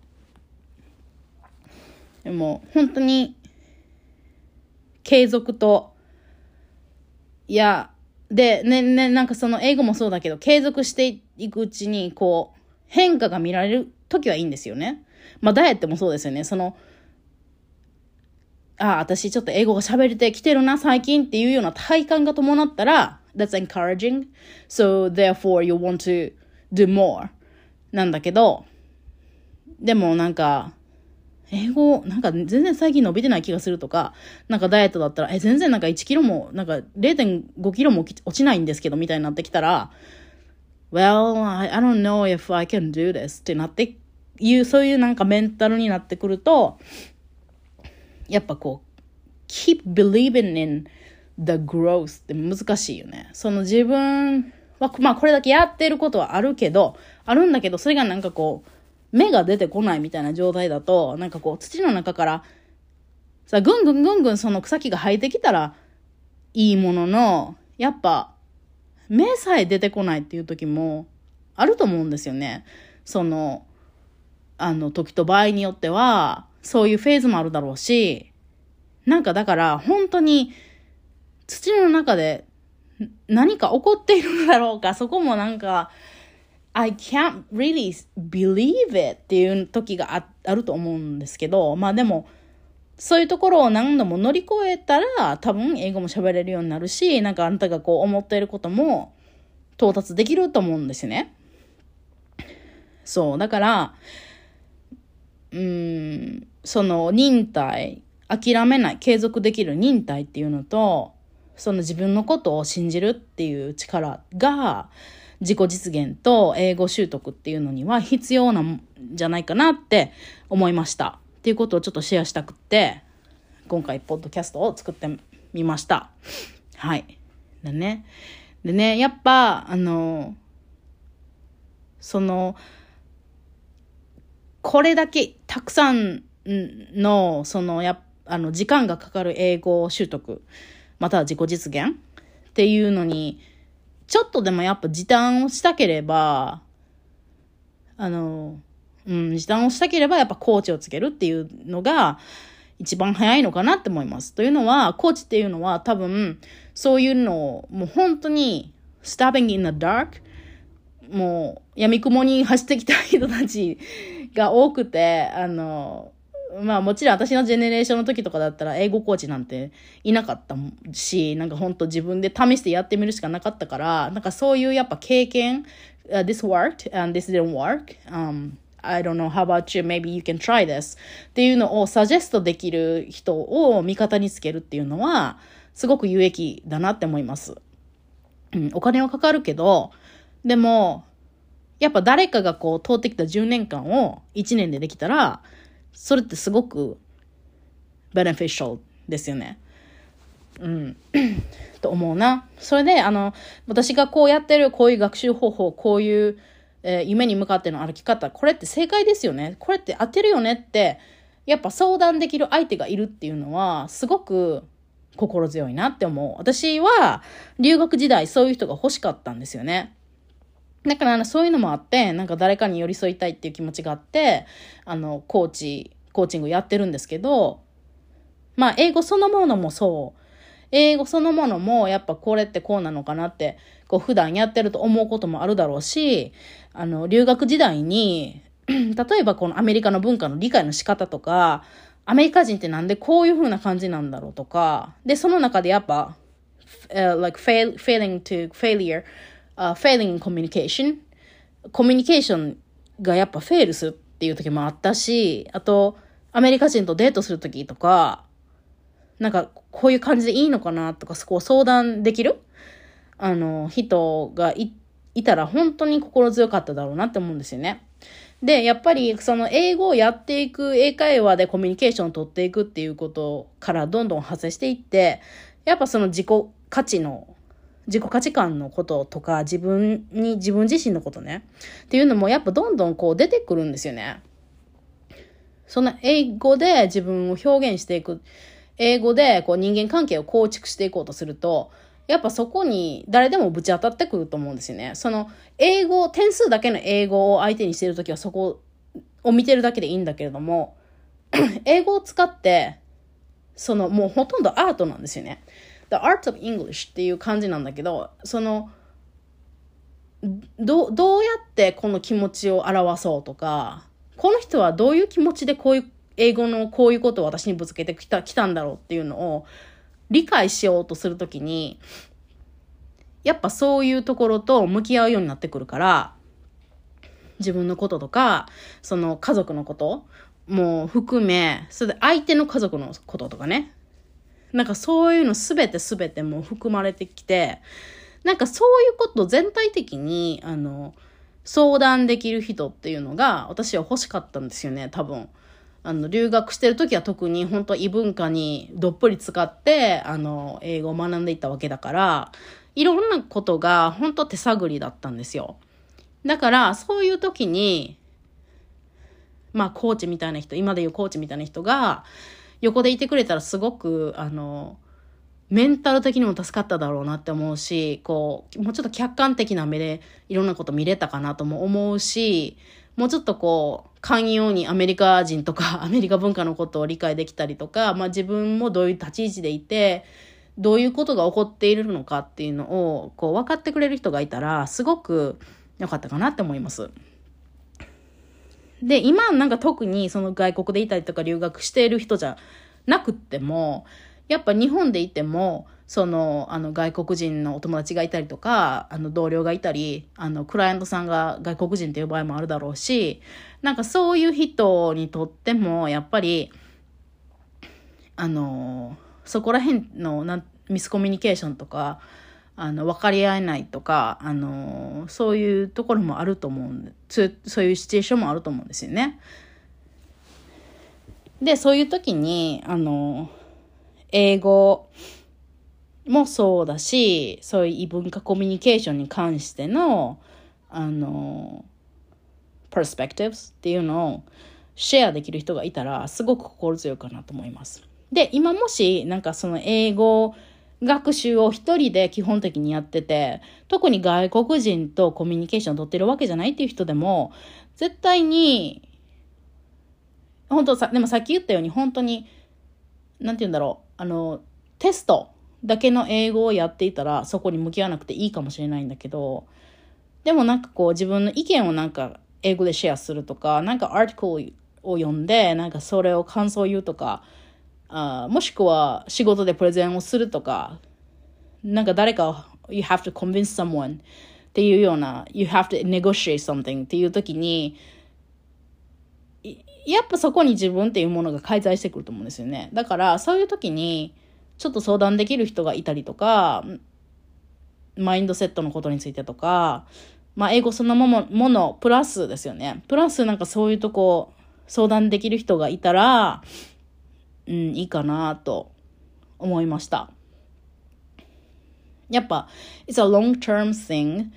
[SPEAKER 1] でも本当に継続と、いやでねねなんかその英語もそうだけど、継続していくうちにこう変化が見られる時はいいんですよね。まあダイエットもそうですよね。そのあ私ちょっと英語が喋れてきてるな最近っていうような体感が伴ったら that's encouraging, so therefore you want to do more なんだけど、でもなんか英語なんか全然最近伸びてない気がするとか、なんかダイエットだったらえ全然なんかいちキロもなんか れいてんごキロも落ちないんですけどみたいになってきたら well I, I don't know if I can do this ってなっていう、そういうなんかメンタルになってくると、やっぱこう keep believing in the growth って難しいよね。その自分はまあこれだけやってることはあるけどあるんだけど、それがなんかこう芽が出てこないみたいな状態だと、なんかこう土の中からさぐんぐんぐんぐんその草木が生えてきたらいいものの、やっぱ芽さえ出てこないっていう時もあると思うんですよね。そのあの時と場合によってはそういうフェーズもあるだろうし、なんかだから本当に土の中で何か起こっているのだろうか、そこもなんかI can't really believe it っていう時が あ, あると思うんですけど、まあでもそういうところを何度も乗り越えたら多分英語も喋れるようになるし、なんかあなたがこう思っていることも到達できると思うんですよね。そうだからうーんその忍耐、諦めない、継続できる忍耐っていうのと、その自分のことを信じるっていう力が自己実現と英語習得っていうのには必要なんじゃないかなって思いましたっていうことをちょっとシェアしたくって今回ポッドキャストを作ってみました。はいでねでねやっぱあのそのこれだけたくさんのそのやあの時間がかかる英語習得または自己実現っていうのにちょっとでもやっぱ時短をしたければ、あの、うん、時短をしたければやっぱコーチをつけるっていうのが一番早いのかなって思います。というのは、コーチっていうのは多分そういうのをもう本当に stabbing in the dark、もう闇雲に走ってきた人たちが多くて、あの、まあもちろん私のジェネレーションの時とかだったら英語コーチなんていなかったし、なんか本当自分で試してやってみるしかなかったから、なんかそういうやっぱ経験、uh, this worked and this didn't work、um, I don't know how about you, maybe you can try this っていうのをサジェストできる人を味方につけるっていうのはすごく有益だなって思います。うん、お金はかかるけど、でもやっぱ誰かがこう通ってきたじゅうねんかんをいちねんでできたら、それってすごく beneficial ですよね。うん。と思うな。それで、あの、私がこうやってる、こういう学習方法、こういう、えー、夢に向かっての歩き方、これって正解ですよね。これって当てるよねって、やっぱ相談できる相手がいるっていうのは、すごく心強いなって思う。私は、留学時代、そういう人が欲しかったんですよね。だからそういうのもあって、なんか誰かに寄り添いたいっていう気持ちがあって、あの、コーチ、コーチングやってるんですけど、まあ、英語そのものもそう。英語そのものも、やっぱこれってこうなのかなって、こう普段やってると思うこともあるだろうし、あの、留学時代に、例えばこのアメリカの文化の理解の仕方とか、アメリカ人ってなんでこういう風な感じなんだろうとか、で、その中でやっぱ、uh, like fail, failing to failure,Uh, failing in communication コミュニケーションがやっぱフェイルするっていう時もあったし、あとアメリカ人とデートする時とか、なんかこういう感じでいいのかなとか、そこを相談できるあの人が い, いたら本当に心強かっただろうなって思うんですよね。で、やっぱりその英語をやっていく、英会話でコミュニケーションを取っていくっていうことからどんどん派生していって、やっぱその自己価値の自己価値観のこととか、自分に、自分自身のことね。っていうのもやっぱどんどんこう出てくるんですよね。その英語で自分を表現していく。英語でこう人間関係を構築していこうとすると、やっぱそこに誰でもぶち当たってくると思うんですよね。その英語、点数だけの英語を相手にしているときはそこを見てるだけでいいんだけれども、英語を使って、そのもうほとんどアートなんですよね。The Art of English っていう感じなんだけど、そのど, どうやってこの気持ちを表そうとか、この人はどういう気持ちでこういう英語のこういうことを私にぶつけてきた、きたんだろうっていうのを理解しようとするときに、やっぱそういうところと向き合うようになってくるから、自分のこととか、その家族のことも含め、それで相手の家族のこととかね、なんかそういうのすべてすべても含まれてきて、なんかそういうこと全体的にあの相談できる人っていうのが私は欲しかったんですよね。多分あの留学してる時は特に本当異文化にどっぷり使ってあの英語を学んでいったわけだから、いろんなことが本当手探りだったんですよ。だからそういう時にまあコーチみたいな人、今でいうコーチみたいな人が横でいてくれたらすごくあのメンタル的にも助かっただろうなって思うし、こうもうちょっと客観的な目でいろんなこと見れたかなとも思うし、もうちょっとこう寛容にアメリカ人とかアメリカ文化のことを理解できたりとか、まあ自分もどういう立ち位置でいてどういうことが起こっているのかっていうのをこう分かってくれる人がいたらすごく良かったかなって思います。で、今なんか特にその外国でいたりとか留学している人じゃなくっても、やっぱ日本でいても、その、あの外国人のお友達がいたりとか、あの同僚がいたり、あのクライアントさんが外国人っていう場合もあるだろうし、なんかそういう人にとっても、やっぱり、あの、そこら辺のなミスコミュニケーションとか、あの分かり合えないとか、あのそういうところもあると思うんで、そうそういうシチュエーションもあると思うんですよね。で、そういう時にあの英語もそうだし、そういう異文化コミュニケーションに関してのあのパースペクティブスっていうのをシェアできる人がいたらすごく心強いかなと思います。で、今もしなんかその英語学習を一人で基本的にやってて、特に外国人とコミュニケーションを取ってるわけじゃないっていう人でも、絶対に、本当さ、でもさっき言ったように本当に、なんて言うんだろう、あの、テストだけの英語をやっていたら、そこに向き合わなくていいかもしれないんだけど、 でもなんかこう自分の意見をなんか英語でシェアするとか、なんかアーティクルを読んで、なんかそれを感想を言うとか、あもしくは仕事でプレゼンをするとか、なんか誰か you have to convince someone っていうような you have to negotiate something っていう時に、やっぱそこに自分っていうものが介在してくると思うんですよね。だからそういう時にちょっと相談できる人がいたりとか、マインドセットのことについてとか、まあ英語そのものプラスですよね。プラスなんかそういうとこ相談できる人がいたら、うん、いいかなと思いました。やっぱ it's a long-term thing,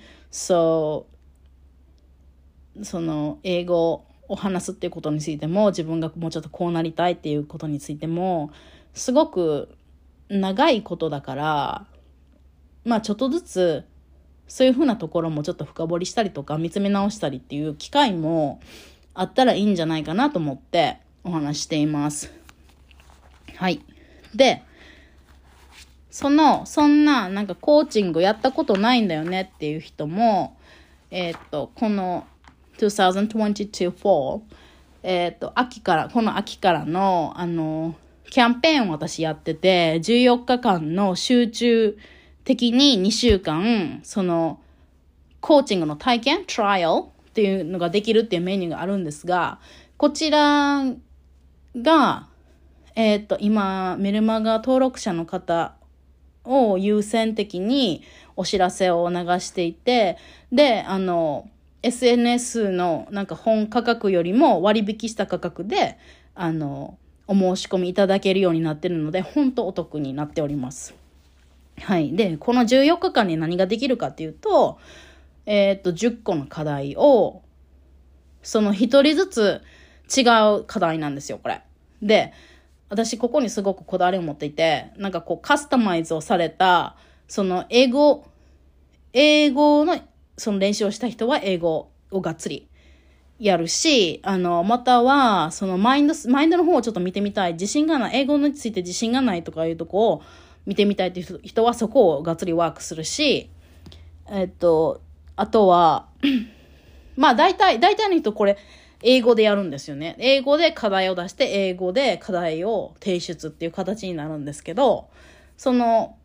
[SPEAKER 1] so その英語を話すっていうことについても、自分がもうちょっとこうなりたいっていうことについてもすごく長いことだから、まあちょっとずつそういうふうなところもちょっと深掘りしたりとか見つめ直したりっていう機会もあったらいいんじゃないかなと思ってお話しています。はい。で、そのそんななんかコーチングやったことないんだよねっていう人も、えっとこのにせんにじゅうに fall、えっと秋からこの秋からのあのキャンペーンを私やってて、じゅうよっかかんの集中的ににしゅうかんそのコーチングの体験トライアルっていうのができるっていうメニューがあるんですが、こちらがえっと今メルマガ登録者の方を優先的にお知らせを流していて、であの エスエヌエス のなんか本価格よりも割引した価格であのお申し込みいただけるようになっているので、本当お得になっております。はい。で、このじゅうよっかかんに何ができるかっていうと、えっと、じゅっこの課題を、その一人ずつ違う課題なんですよ、これ。で、私ここにすごくこだわりを持っていて、なんかこうカスタマイズをされた、その英語、英語のその練習をした人は英語をがっつりやるし、あの、または、そのマインド、マインドの方をちょっと見てみたい、自信がない、英語について自信がないとかいうとこを見てみたいという人はそこをがっつりワークするし、えっと、あとは、まあ大体、大体の人これ、英語でやるんですよね。英語で課題を出して、英語で課題を提出っていう形になるんですけど、その、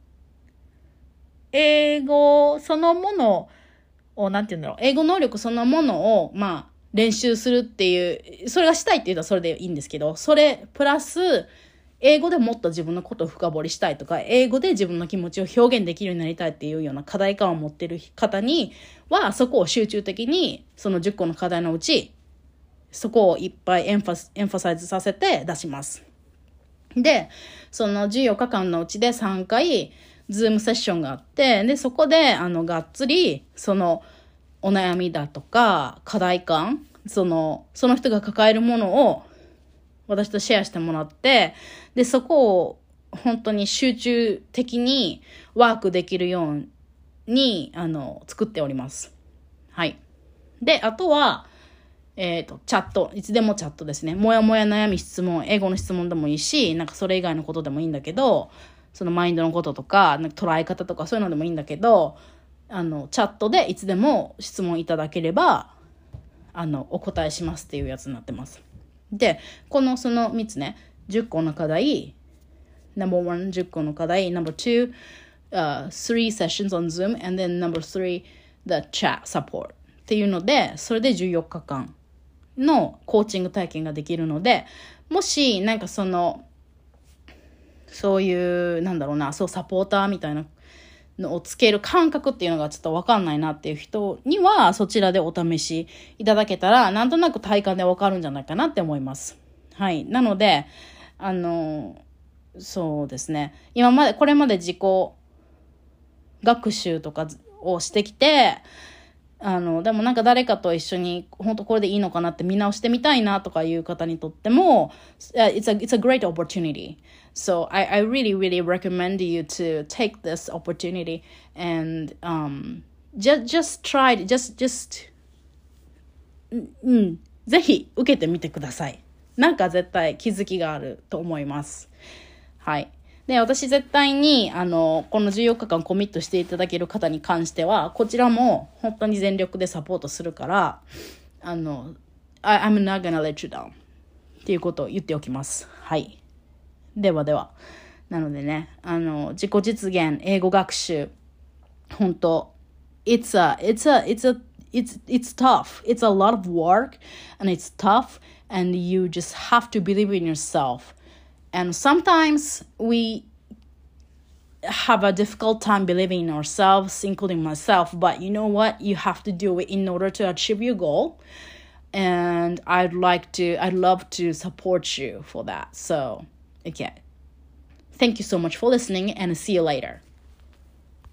[SPEAKER 1] 英語そのものを、なんて言うんだろう、英語能力そのものを、まあ、練習するっていう、それがしたいって言うとそれでいいんですけど、それプラス、英語でもっと自分のことを深掘りしたいとか、英語で自分の気持ちを表現できるようになりたいっていうような課題感を持っている方には、そこを集中的に、そのじゅっこの課題のうち、そこをいっぱいエンファ、エンファサイズさせて出します。で、そのじゅうよっかかんのうちでさんかい、ズームセッションがあって、で、そこで、あの、がっつり、その、お悩みだとか、課題感、その、その人が抱えるものを、私とシェアしてもらって、で、そこを本当に集中的にワークできるように、あの、作っております。はい。で、あとは、えっと、チャット。いつでもチャットですね。もやもや悩み質問、英語の質問でもいいし、なんかそれ以外のことでもいいんだけど、そのマインドのこととか、なんか捉え方とかそういうのでもいいんだけど、あの、チャットでいつでも質問いただければ、あの、お答えしますっていうやつになってます。で、このそのみっつね、じゅっこの課題、ナンバーワン、じゅっこの課題、ナンバーツー、uh, three sessions on Zoom, and then number three, the chat support っていうので、それでじゅうよっかかんのコーチング体験ができるので、もしなんかその、そういう、なんだろうな、そうサポーターみたいなのをつける感覚っていうのがちょっとわかんないなっていう人には、そちらでお試しいただけたら、なんとなく体感でわかるんじゃないかなって思います。はい。なので、あの、そうですね。今まで、これまで自己学習とかをしてきて、あの、でもなんか誰かと一緒に、本当これでいいのかなって見直してみたいなとかいう方にとっても、it's a, it's a great opportunity. So I, I really, really recommend you to take this opportunity and um, just, just try, just, just, うん、ぜひ受けてみてください。なんか絶対気づきがあると思います。はい。 で、私絶対に、あの、このじゅうよっかかんコミットしていただける方に関しては、こちらも本当に全力でサポートするから、あの、I, I'm not gonna let you down っていうことを言っておきます。はい。ではでは。なのでね、あの、自己実現、英語学習、本当、it's a, it's a, it's a, it's, it's tough. It's a lot of work and it's tough and you just have to believe in yourself. And sometimes we have a difficult time believing in ourselves, including myself. But you know what? You have to do it in order to achieve your goal. And I'd like to, I'd love to support you for that. So, okay. Thank you so much for listening and see you later.